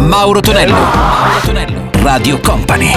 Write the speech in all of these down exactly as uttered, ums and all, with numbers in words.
Mauro Tonello. Mauro Tonello. Radio Company.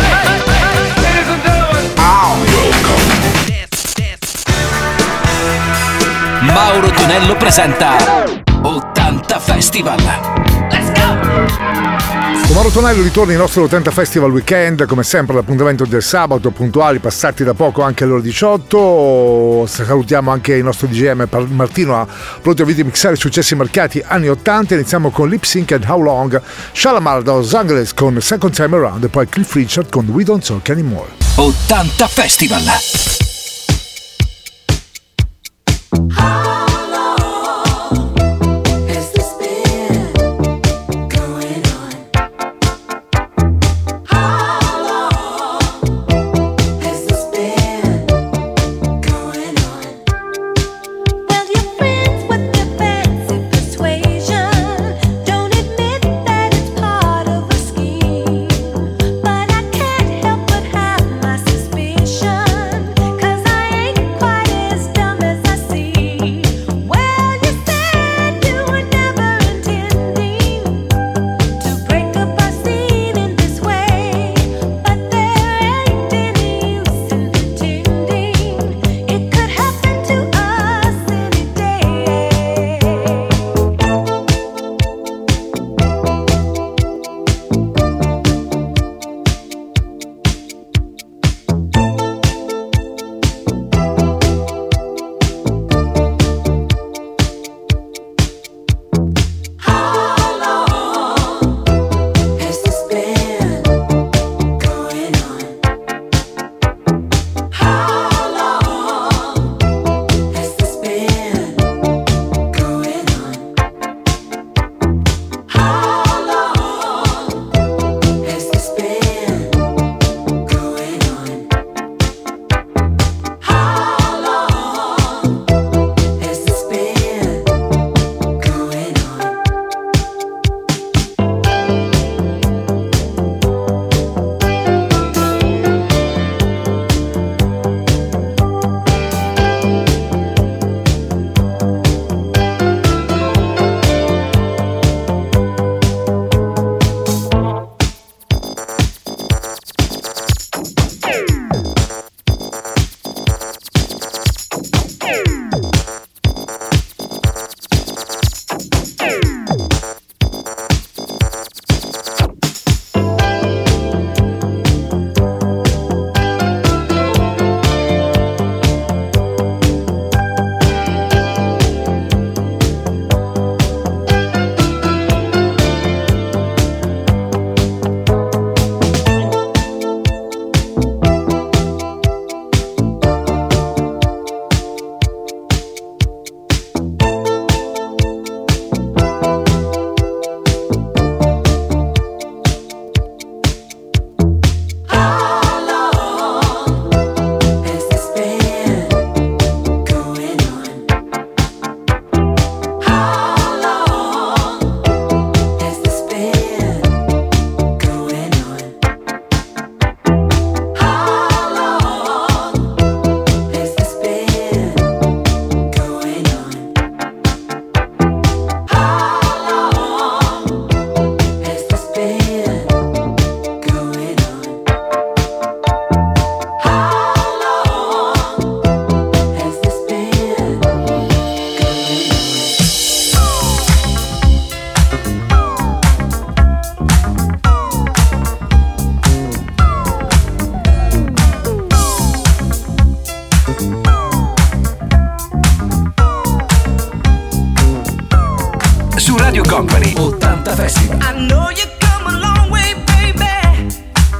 Mauro Tonello presenta ottanta Festival. Let's go! Con Mauro Tonello ritorna il nostro ottanta Festival Weekend, come sempre l'appuntamento del sabato, puntuali, passati da poco anche alle ore diciotto. Salutiamo anche il nostro D J M Martino, pronto a videomixare successi marcati anni ottanta. Iniziamo con Lip Sync and How Long, Shalamar da Los Angeles con Second Time Around e poi Cliff Richard con We Don't Talk Anymore. ottanta Festival. Radio Company ottanta Festival. I know you come a long way, baby,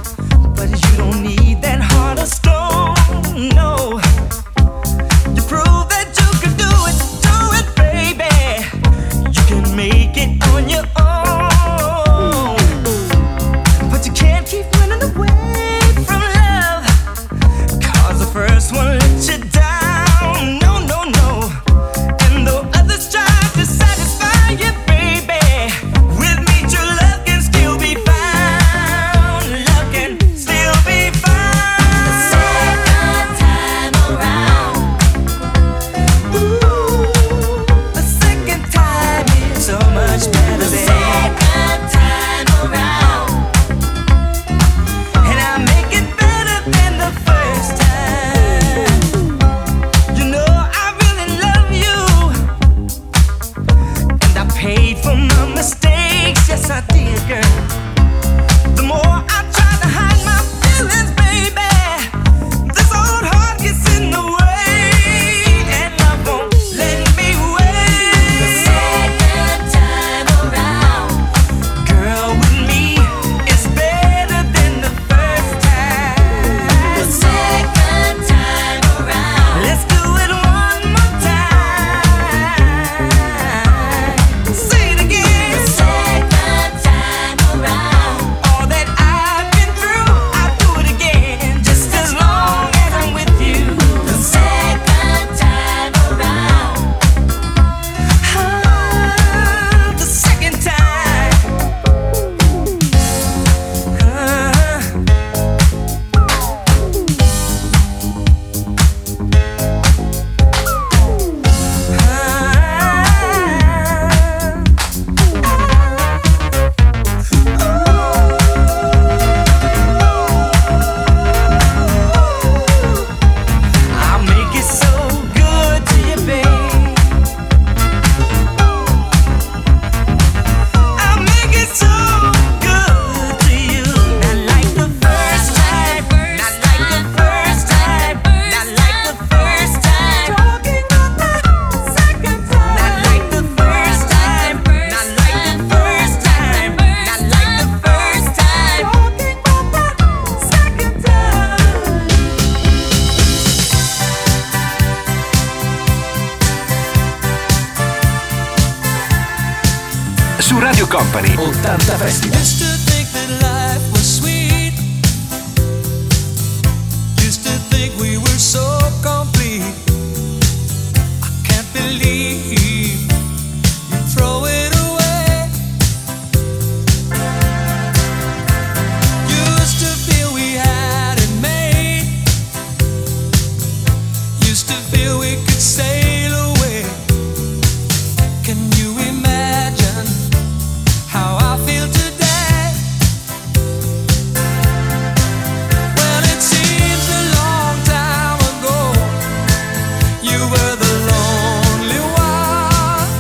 but you don't need that heart of stone, no. You prove that you can do it, do it, baby. You can make it on your own, but you can't keep running away from love, 'cause the first one let you down, no, no, no. And though others try to satisfy you, with me to ottanta Festival. Used to think that life was sweet. Used to think we were so complete. I can't believe you throw it away. Used to feel we had it made. Used to feel we could sail away. Can you imagine how I feel today? Well, it seems a long time ago you were the lonely one.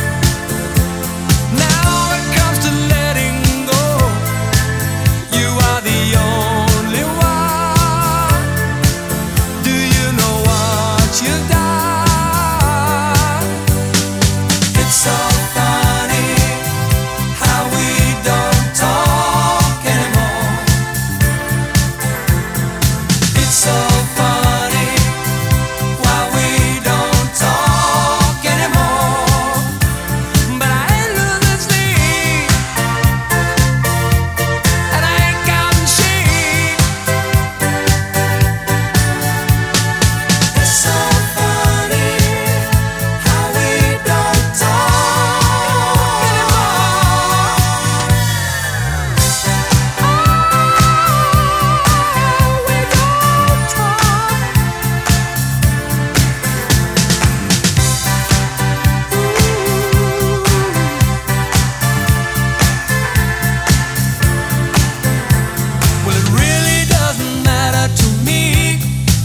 Now it comes to letting go, you are the only one. Do you know what you've done? It's so funny how we don't talk anymore. It's so funny why we don't talk anymore. But I ain't losing sleep, and I ain't counting sheep. It's so funny how we don't talk anymore. Oh, we don't talk. Well, it really doesn't matter to me.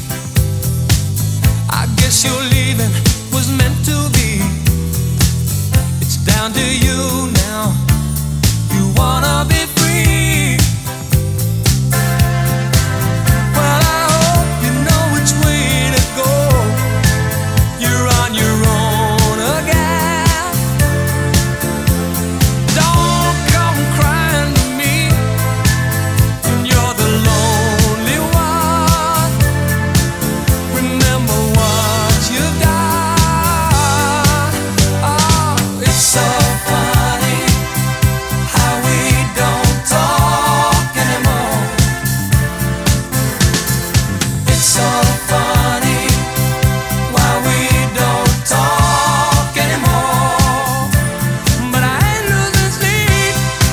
I guess your leaving was meant to be. It's down to you now. You wanna be free. Well, I hope you know which way to go. You're on your own again. Don't come crying to me when you're the lonely one. Remember what you've done. Oh, it's so funny how we don't talk anymore. It's so funny why we don't talk anymore. But I ain't losing sleep,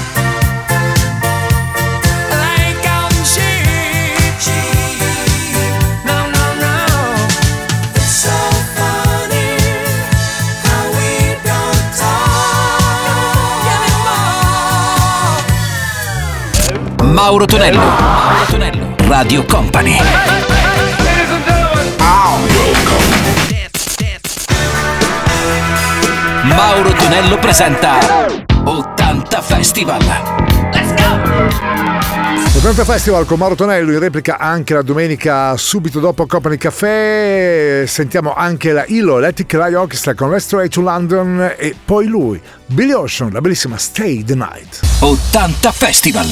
and I ain't counting sheep. No, no, no. It's so funny how we don't talk anymore. Mauro Tonello, Mauro Tonello, Radio Company. Mauro Tonello presenta ottanta Festival. Let's go! ottanta Festival con Mauro Tonello, in replica anche la domenica subito dopo Company Café. Sentiamo anche la I L O Electric Light Orchestra con Let's Stray to London e poi lui, Billy Ocean, la bellissima Stay the Night. ottanta Festival.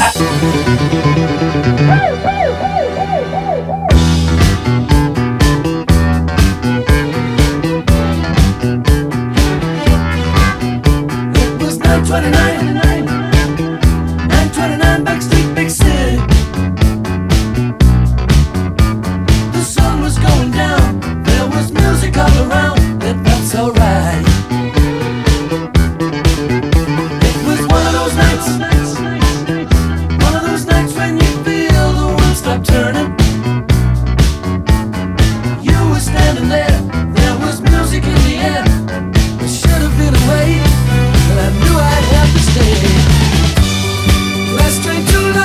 It was nine twenty-nine, nine twenty-nine Backstreet Big City. The sun was going down, there was music all around, it felt so right. It was one of those nights, one of those nights when you feel the world stop turning. You were standing there, there was music in the air. It should have been away, but I knew I'd have to stay. Last train to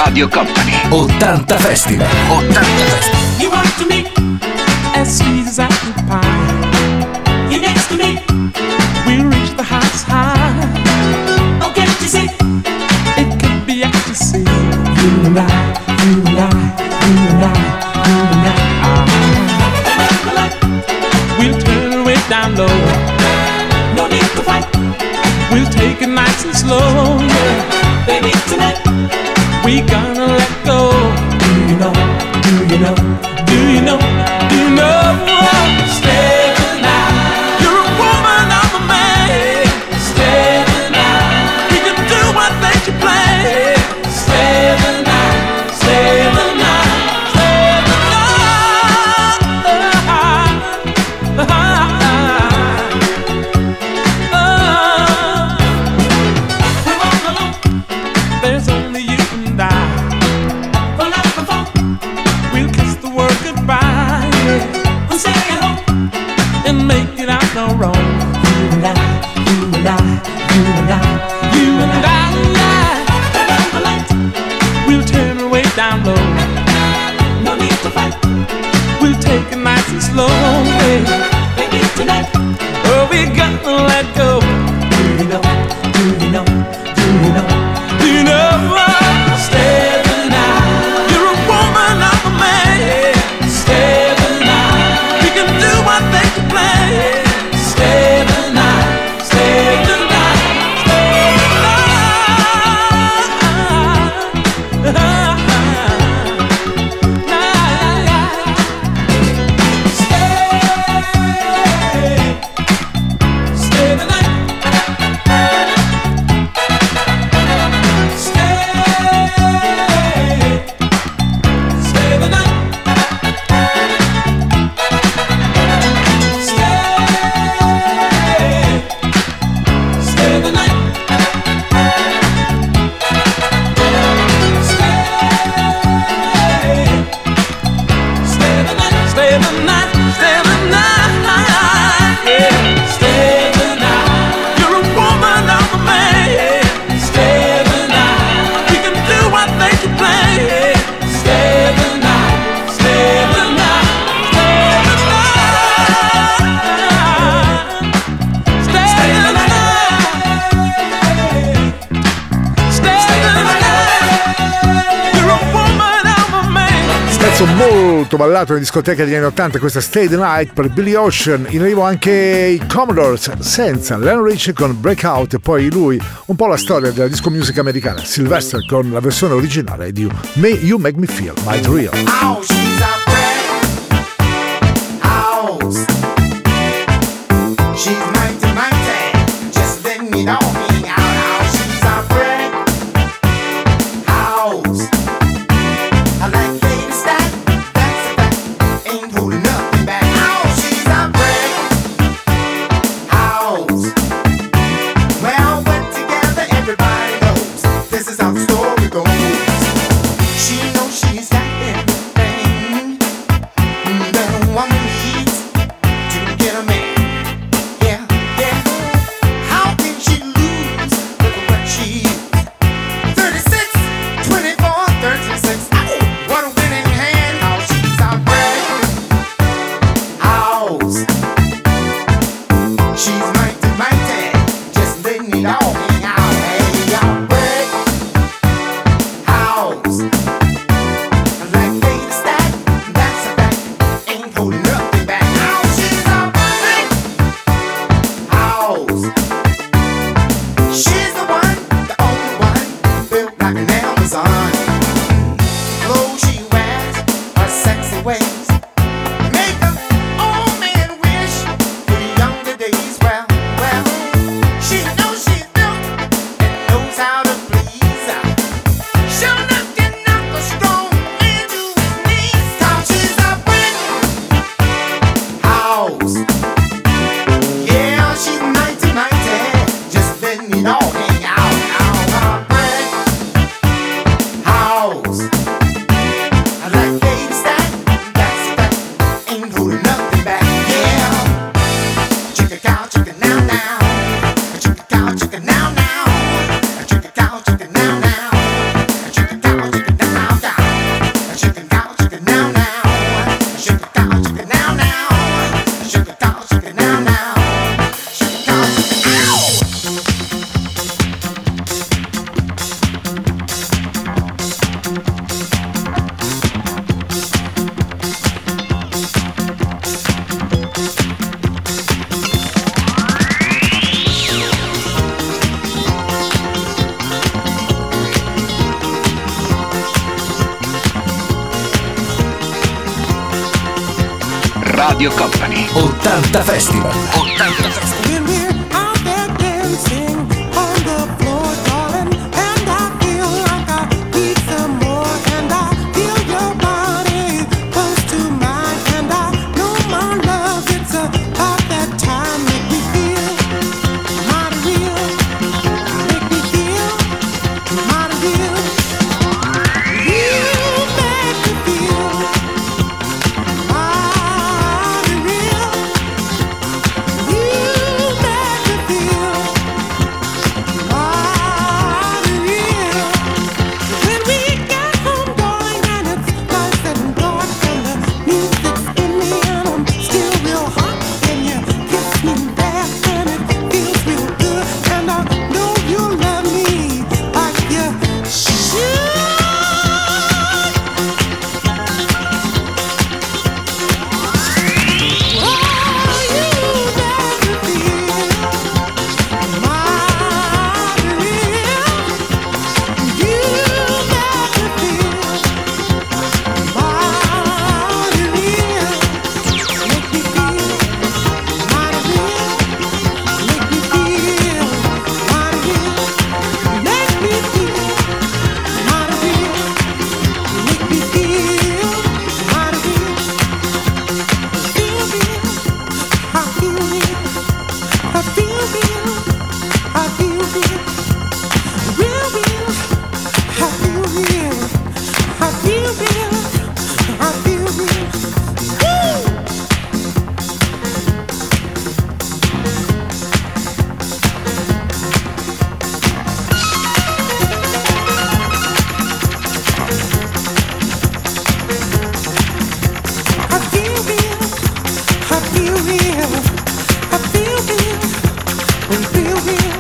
Radio Company. ottanta Festival. ottanta Festival. You want to me as sweet as apple pie. You next to me, we'll reach the heights high. Oh, can't you see? It could be ecstasy. You and I, you and I, you and I, you and I. We'll turn it way down low. No need to fight. We'll take it nice and slow. Yeah, baby, tonight we gonna let go. Do you know? Do you know? Do you know? Do you know? Stay the night. You're a woman, I'm a man. Stay the night. We can do what makes you play. Stay the night. Stay the night. Stay the night. There's only you and I. And make it out no wrong. You and I, you and I, you and I, you and I, we'll turn it way down low. No need to fight. We'll take it nice and slow. Baby, tonight, oh, we gonna let go. Do you know? Do you know? Do you know? Do you know? Stay the night. You're a woman, I'm a man. Stay the night. We can do what they can play. Stay the night. Stay the night. Stay the night. Stay. Stay the night. Molto ballato in discoteca degli anni ottanta, questa Stay the Night per Billy Ocean. In arrivo anche i Commodores senza Lionel Richie con Breakout, e poi lui un po' la storia della disco music americana, Sylvester con la versione originale di You Make Me Feel Mighty Real. Oh, she's a friend. House. She's mighty, mighty. Just let me know me out. How she's a friend. House. I like lady style. That's a fact. Ain't holding nothing back. How she's a friend. House. Well, we're together, everybody knows. This is how the story goes. She knows she's got everything that a woman needs to get a man. Yeah, Radio Company. ottanta Festival. ottanta Festival. When we're out there dancing on the floor, darling, and I feel like I need some more, and I feel your body close to mine, and I know my love, it's about that time. Make me feel mighty real, make me feel mighty real. You make me feel mighty real. You make me feel mighty real. When we get home, darling, and it's nice and dark, and the music's in me, and I'm still real hot, and you kiss me back, and it feels real good, and I know you love me like you should. Oh, you make me feel mighty real. You make me feel mighty real. Make me feel mighty real. Make me feel mighty real. Make me feel mighty real. Make me feel mighty real. Feel real. I feel real. I feel real. I feel real. Real, real. I feel real. I feel real. I feel real. Woo! I feel real. I feel real. I feel real. I feel real.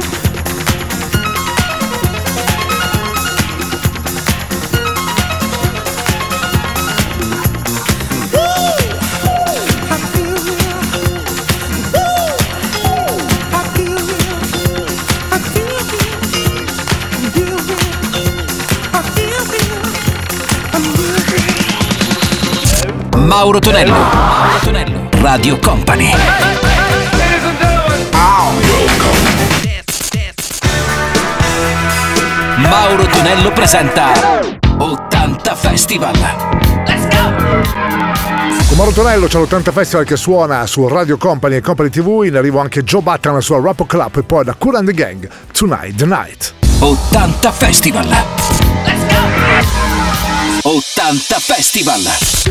Woo! I feel real. Woo! I feel real. I feel real. Real real. I feel real. I'm real real. Mauro Tonello. Mauro Tonello. Radio Company. Mauro Tonello presenta ottanta Festival. Con Mauro Tonello c'è l'ottanta Festival che suona su Radio Company e Company tivù. In arrivo anche Joe Button alla sua Rap Club e poi da Kool and the Gang, Tonight the Night. ottanta Festival. ottanta Festival.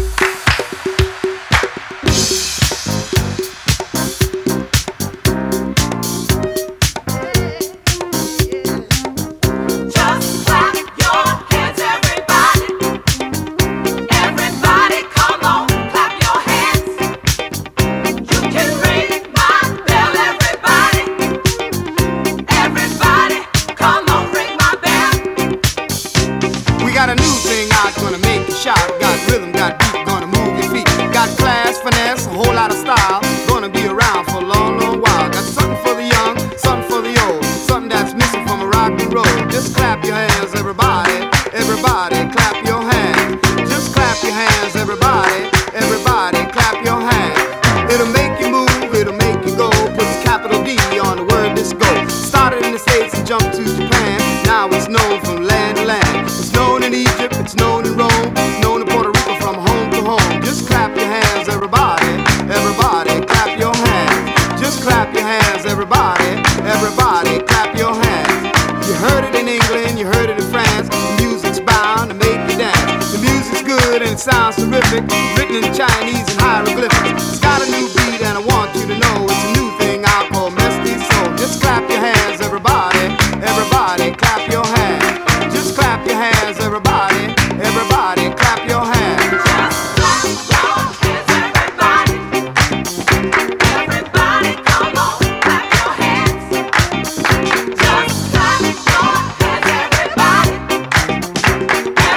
Just clap your hands, everybody. Everybody, come on, clap your hands. You can ring my bell, everybody. Everybody, come on, ring my bell. We got a new thing out, gonna make you shout. Got rhythm, got beat, gonna move your feet. Got class, finesse, a whole lot of style. Gonna be around for a long, long while. Got something for the young, something for the old. Something that's missing from a rock and roll. Just clap your hands, everybody. Everybody, clap your hands. Just clap your hands, everybody. Everybody, clap your hands. It'll make you move, it'll make you go. Put the capital D on the word disco. Started in the States and jumped to Japan. Now it's known from land to land. It's known in Egypt, it's known in Rome. It's known in Puerto Rico from home to home. Just clap your hands, everybody. Everybody, clap your hands. Just clap your hands, everybody. Everybody, clap your hands. You heard it in England, you heard it in France. The music's bound to make you dance. The music's good and it sounds terrific. Written in Chinese and hieroglyphics. It's got a new beat and I want you to know it's a new thing I call Mesty Soul. Just clap your hands, everybody. Everybody, clap your hands. Just clap your hands, everybody. Everybody, clap your hands. Just clap your hands, everybody. Everybody, come on, clap your hands. Just clap your hands, everybody.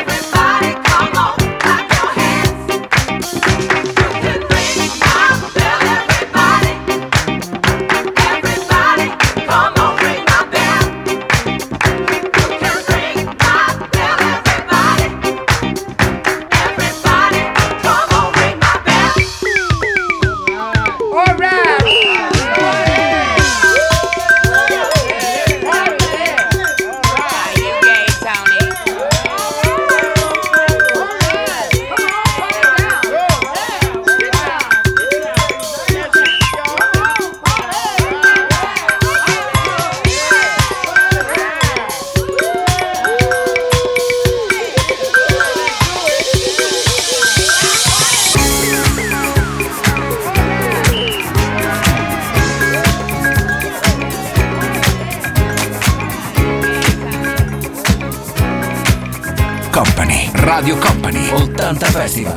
Everybody, come on, clap your hands. You can ring my bell. Radio Company ottanta Festival.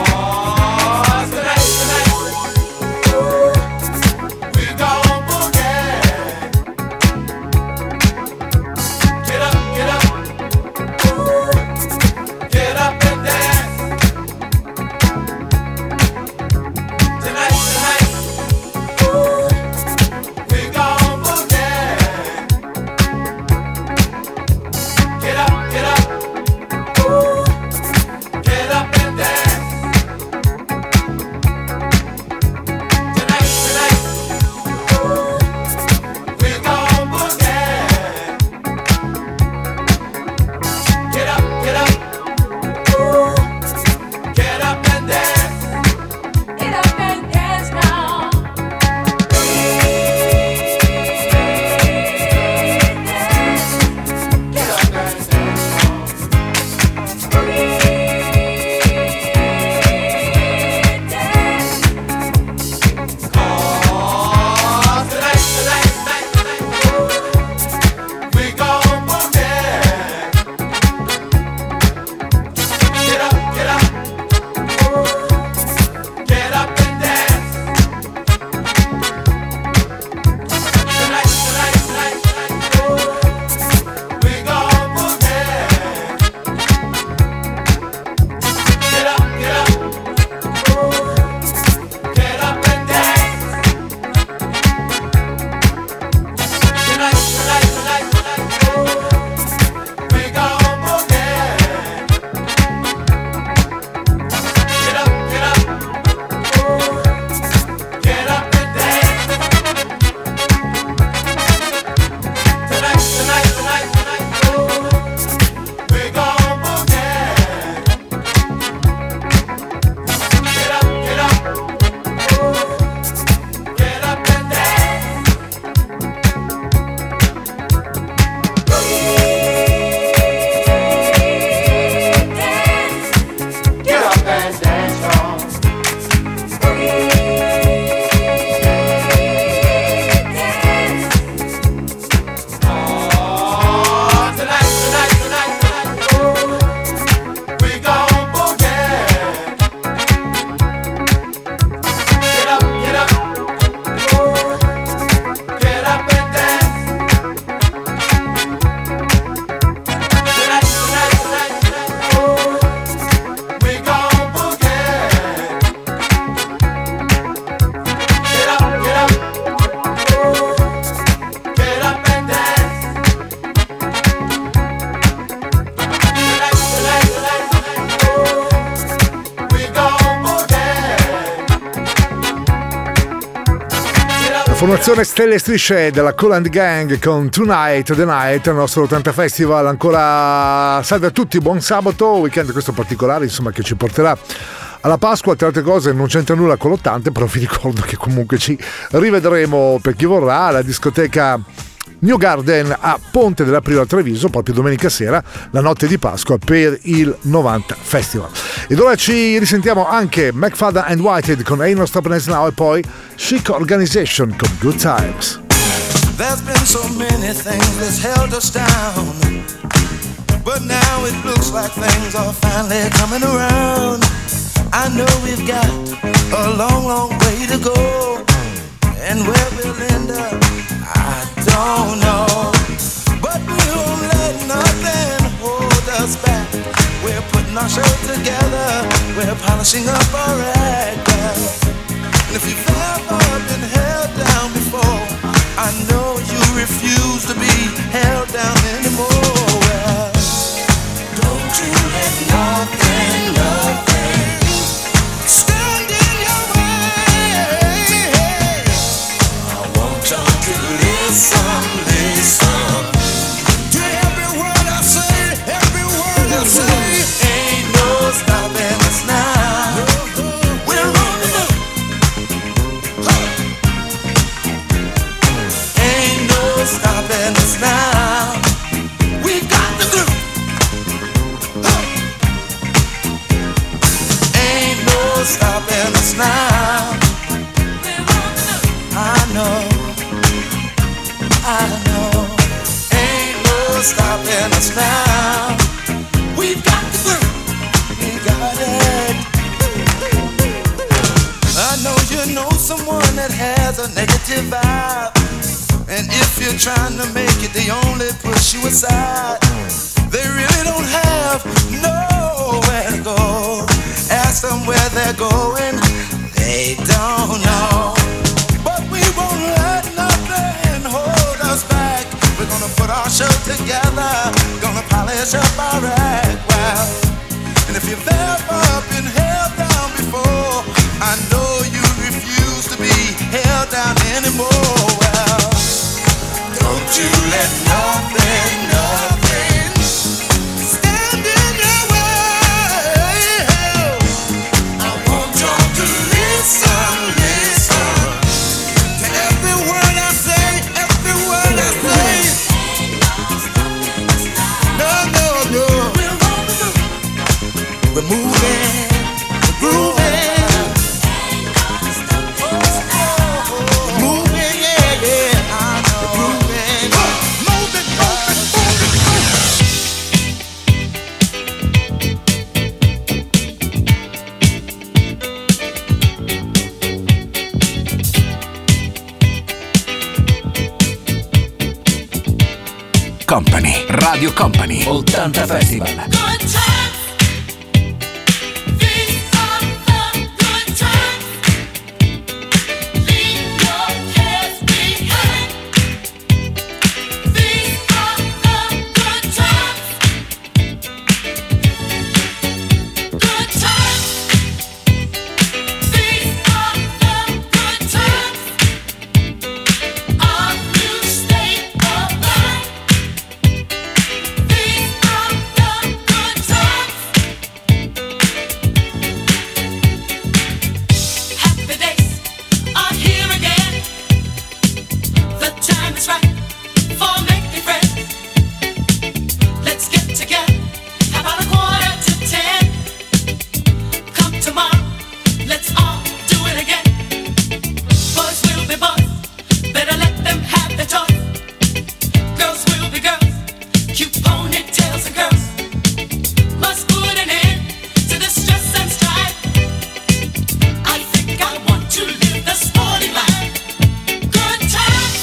Formazione Stelle e Strisce della Kool and Gang con Tonight the Night, il nostro ottanta Festival. Ancora salve a tutti, buon sabato, weekend questo particolare insomma che ci porterà alla Pasqua. Tra altre cose non c'entra nulla con l'ottanta, però vi ricordo che comunque ci rivedremo per chi vorrà alla discoteca New Garden a Ponte dell'Aprile a Treviso proprio domenica sera, la notte di Pasqua per il novanta Festival. Ed ora ci risentiamo anche McFadden and Whitehead con Ain't No Stopping Us Now e poi Chic Organization con Good Times. There's been so many things that's held us down, but now it looks like things are finally coming around. I know we've got a long, long way to go, and where we'll end up I don't know, but we won't let nothing hold us back. We're putting our show together, we're polishing up our act, and if you've ever been held down before, I know you refuse to be held down anymore. Well, don't you let nothing, nothing stand in your way. I want y'all to listen, listen to every word I say, every word I say. Ain't no stopping us now. We're rolling up. Ain't no stopping us now. We got the groove. Ain't no stopping us now. I know, I know. Ain't no stopping us now. We've got the groove. party vibe. And if you're trying to make it, they only push you aside. They really don't have nowhere to go. Ask them where they're going, they don't know. But we won't let nothing hold us back. We're gonna put our show together, gonna polish up our act well. And if you've ever been held down before, I know you refuse to be held down anymore. Well, don't you let nothing, nothing stand in your way. I want y'all to listen, listen to every word I say, every word I say. No, no, no. We're moving, we're grooving. We're moving, yeah, yeah. I know. We're grooving. Moving, moving. Company, Radio Company, ottanta Festival. Good times. These are the good times. Leave your cares behind. These are the good times. Good times. These are the good times. Our new state of mind. These are the good times. Happy days are here again. The time is right for making friends. Let's get together about a quarter to ten. Come tomorrow, let's all do it again. Boys will be boys, better let them have their choice. Girls will be girls, cute ponytails and curls. Must put an end to the stress and strife. I think I want to live the sporty life. Good times.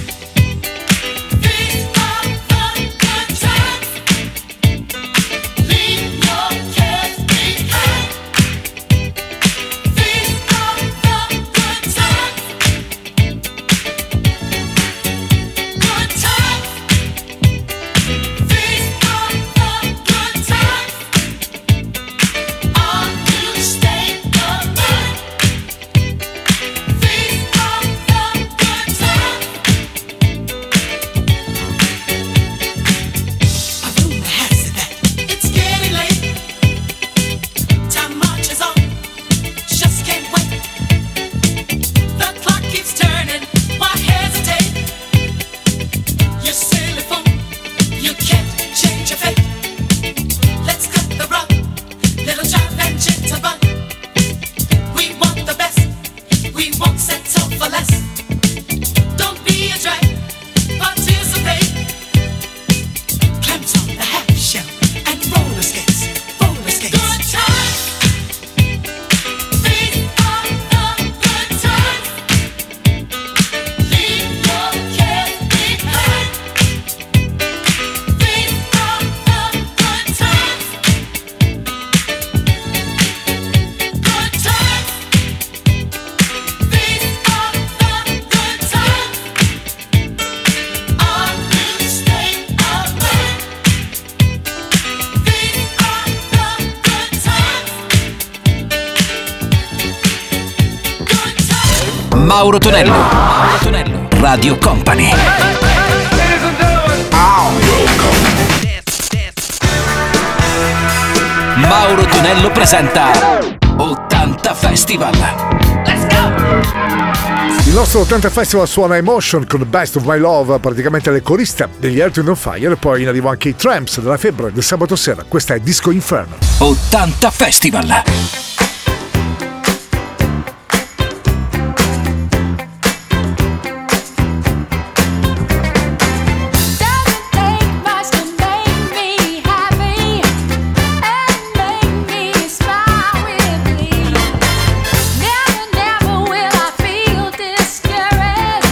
These are the good times. Leave your cares behind. These are the good times. Good times. These are the good times. Our new state of mind. These are the good times. A rumor has it that it's getting late. Time marches on, just can't wait. The clock keeps turning, why hesitate? You silly fool, you can't change your fate. Let's cut the rug, little jive and jitterbug. We want the best, we won't settle for less. Don't be a drag, participate. Clams on the half shell and roller skates, roller skates. Good times. These are the good times. Leave your cares behind. These are the good times. Good times. These are the good times. Our new state of mind. These are the good times. Good times. Mauro Tonello, Mauro Tonello, Radio Company. Mauro Tonello presenta ottanta Festival. Let's go! Il nostro ottanta Festival suona Emotion con Best of My Love, praticamente le coriste degli Earth, Wind and Fire, e poi in arrivo anche i Tramps della Febbre del sabato sera. Questa è Disco Inferno. ottanta Festival. Doesn't take much to make me happy and make me smile with glee. Never, never will I feel discouraged.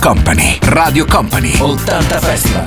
Company, Radio Company, ottanta Festival.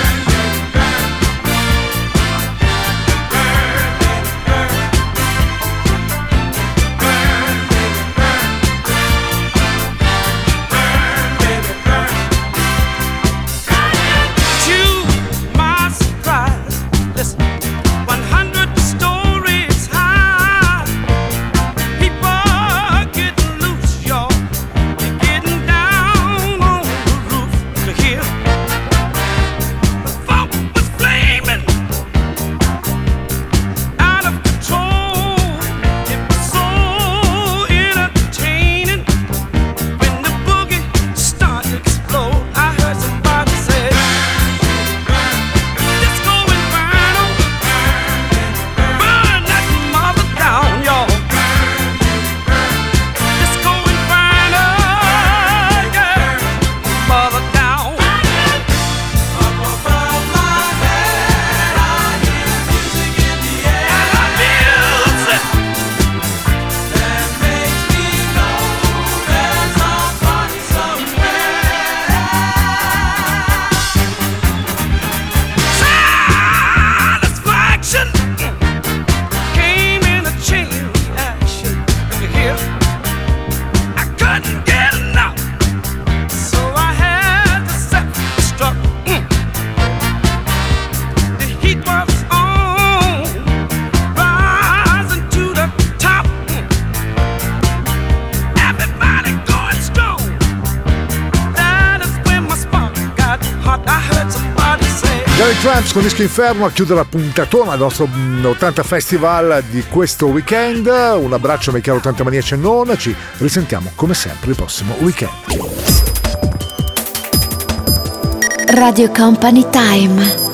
Tramps con Disco Inferno a chiudere la puntatona del nostro ottanta Festival di questo weekend. Un abbraccio ai cari ottanta Maniaci e non, ci risentiamo come sempre il prossimo weekend. Radio Company Time.